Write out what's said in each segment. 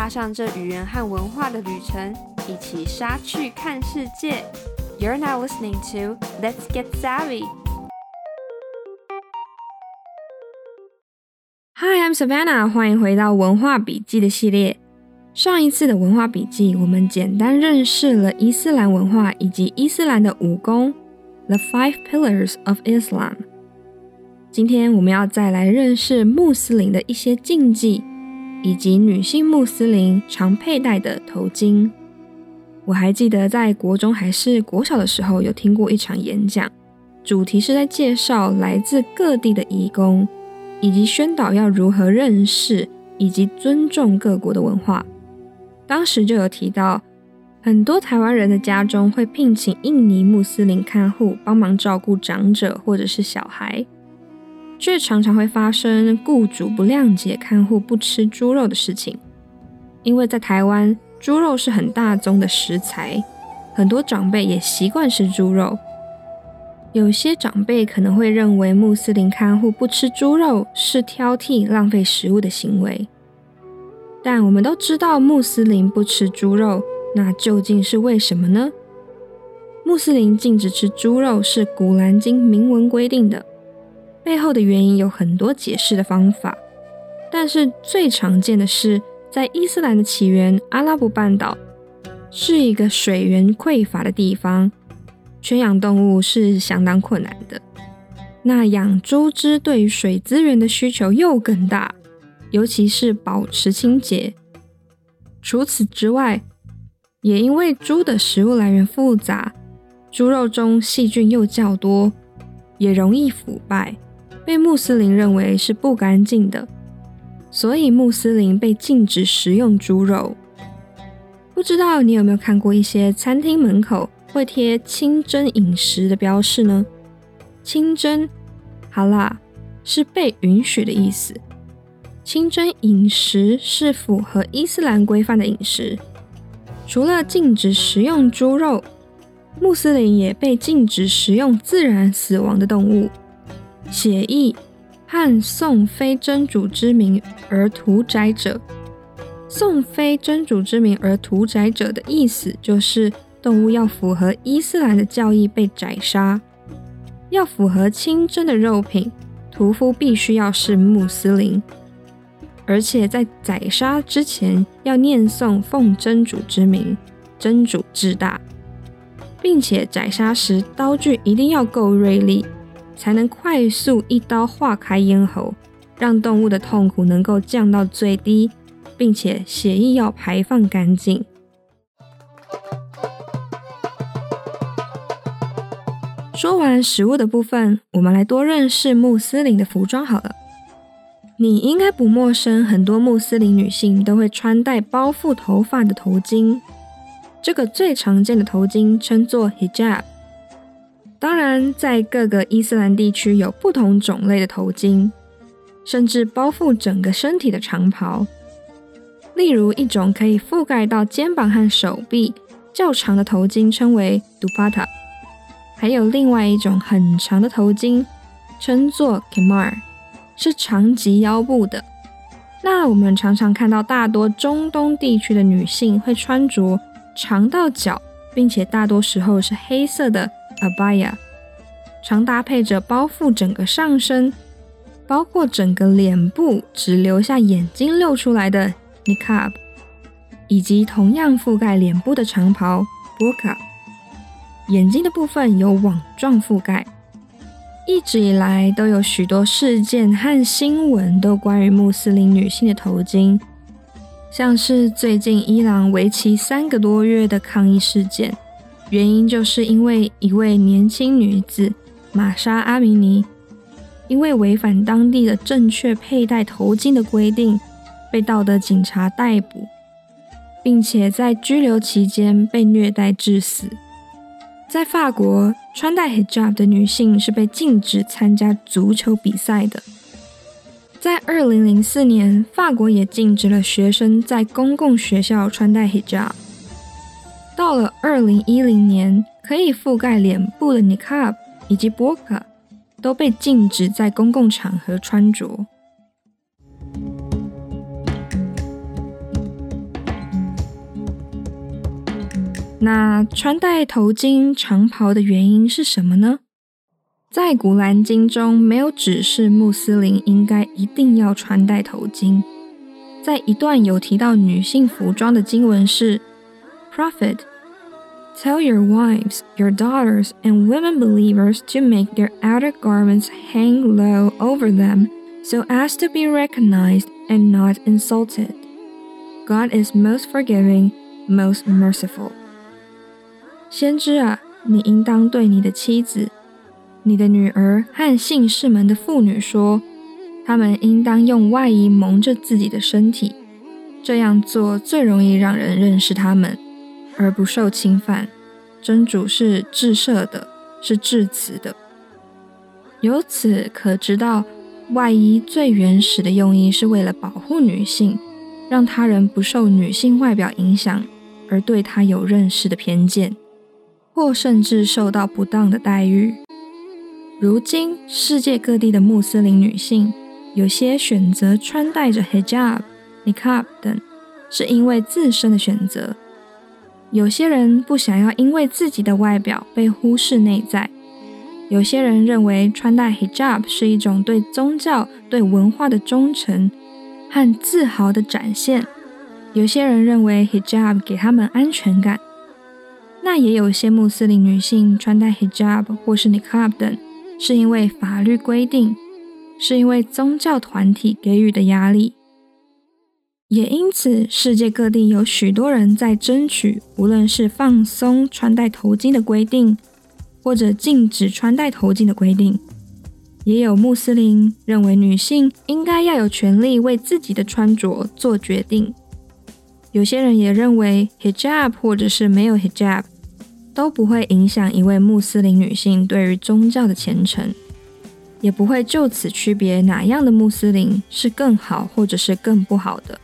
上這語言和文化的旅程，一起莎去看世界。You're now listening to Let's Get Savvy. Hi, I'm Savannah. 歡迎回到文化筆記的系列。上一次的文化筆記，我們簡單認識了伊斯蘭文化以及伊斯蘭的五功 The Five Pillars of Islam。今天我們要再來認識穆斯林的一些禁忌，以及女性穆斯林常佩戴的頭巾。我還記得在國中還是國小的時候有聽過一場演講，主題是在介紹來自各地的移工，以及宣導要如何認識以及尊重各國的文化。當時就有提到，很多台灣人的家中會聘請印尼穆斯林看護幫忙照顧長者或者是小孩，卻常常會發生雇主不諒解看護不吃豬肉的事情。因為在台灣，豬肉是很大宗的食材，很多長輩也習慣吃豬肉。有些長輩可能會認為穆斯林看護不吃豬肉是挑剔、浪費食物的行為。但我們都知道穆斯林不吃豬肉，那究竟是為什麼呢？穆斯林禁止吃豬肉是古蘭經明文規定的，背後的原因有很多解釋的方法，但是最常見的是，在伊斯蘭的起源阿拉伯半島是一個水源匱乏的地方，圈養動物是相當困難的。那養豬隻對於水資源的需求又更大，尤其是保持清潔。除此之外，也因為豬的食物來源複雜，豬肉中細菌又較多，也容易腐敗，被穆斯林認為是不乾淨的。所以穆斯林被禁止食用豬肉。不知道你有沒有看過一些餐廳門口會貼清真飲食的標示呢？清真哈拉是被允許的意思。清真飲食是符合伊斯蘭規範的飲食。除了禁止食用豬肉，穆斯林也被禁止食用自然死亡的動物，血液和誦非真主之名而屠宰者。誦非真主之名而屠宰者的意思就是動物要符合伊斯蘭的教義被宰殺，要符合清真的肉品，屠夫必須要是穆斯林，而且在宰殺之前要念誦奉真主之名，真主至大，並且宰殺時刀具一定要夠銳利，才能快速一刀劃開咽喉，讓動物的痛苦能夠降到最低，並且血液要排放乾淨。說完食物的部分，我們來多認識穆斯林的服裝好了。你應該不陌生，很多穆斯林女性都會穿戴包覆頭髮的頭巾，這個最常見的頭巾稱作 hijab。當然，在各個伊斯蘭地區有不同種類的頭巾，甚至包覆整個身體的長袍。例如，一種可以覆蓋到肩膀和手臂較長的頭巾稱為 dupatta， 還有另外一種很長的頭巾稱作 khimar， 是長及腰部的。那我們常常看到大多中東地區的女性會穿着長到腳，並且大多時候是黑色的Abaya， 常搭配着包覆整個上身，包括整個臉部只留下眼睛露出來的 Niqab， 以及同樣覆蓋臉部的長袍 Burqa， 眼睛的部分有網狀覆蓋。一直以來都有許多事件和新聞都關於穆斯林女性的頭巾，像是最近伊朗為期3個多月的抗議事件，原因就是因為一位年輕女子瑪莎阿米尼，因為違反當地的正確佩戴頭巾的規定，被道德警察逮捕，並且在拘留期間被虐待致死。在法國，穿戴 hijab 的女性是被禁止參加足球比賽的。在2004年，法國也禁止了學生在公共學校穿戴 hijab。到了2010年，可以覆蓋臉部的 niqab 以及 burqa 都被禁止在公共場合穿着。 那穿戴頭巾、長袍的原因是什麼呢？在古蘭經中沒有指示穆斯林應該一定要穿戴頭巾。在一段有提到女性服裝的經文是 Prophet, tell your wives, your daughters, and women believers to make their outer garments hang low over them so as to be recognized and not insulted. God is most forgiving, most merciful. 先知啊，你應當對你的妻子、你的女兒和信士們的婦女說，她們應當用外衣蒙着自己的身體，這樣做最容易讓人認識她們，而不受侵犯。真主是至赦的，是至慈的。由此可知道，外衣最原始的用意是為了保護女性，讓他人不受女性外表影響，而對她有認識的偏見，或甚至受到不當的待遇。如今，世界各地的穆斯林女性，有些選擇穿戴着 hijab、niqab 等，是因為自身的選擇。有些人不想要因為自己的外表被忽視內在。有些人認為穿戴 hijab 是一種對宗教、對文化的忠誠和自豪的展現。有些人認為 hijab 給他們安全感。那也有些穆斯林女性穿戴 hijab 或是 niqab 等，是因為法律規定，是因為宗教團體給予的壓力。也因此，世界各地有許多人在爭取，無論是放鬆穿戴頭巾的規定，或者禁止穿戴頭巾的規定。也有穆斯林認為女性應該要有權利為自己的穿着做決定。有些人也認為 hijab 或者是沒有 hijab 都不會影響一位穆斯林女性對於宗教的虔誠，也不會就此區別哪樣的穆斯林是更好或者是更不好的。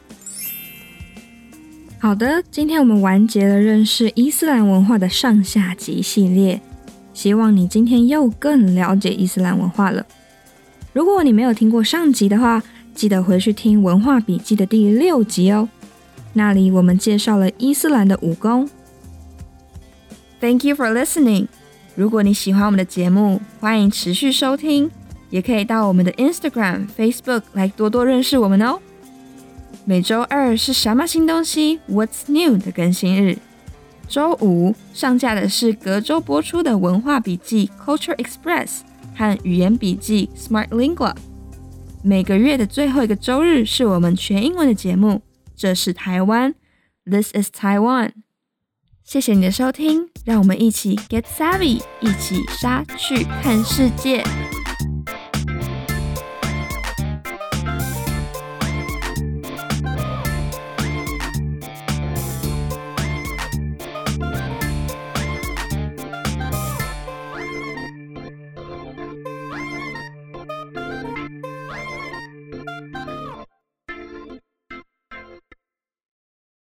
好的，今天我們完結了認識伊斯蘭文化的上下集系列，希望你今天又更了解伊斯蘭文化了。如果你沒有聽過上集的話，記得回去聽文化筆記的第6集哦，那裡我們介紹了伊斯蘭的武功。Thank you for listening. 如果你喜歡我們的節目，歡迎持續收聽，也可以到我們的 Instagram、Facebook 來多多認識我們哦。每周二是什麼新東西 What's New 的更新日，周五上架的是隔周播出的文化筆記 Culture Express 和語言筆記 Smart Lingua。每個月的最後一個周日是我們全英文的節目，這是台灣 This is Taiwan。謝謝你的收聽，讓我們一起 Get Savvy， 一起莎去看世界。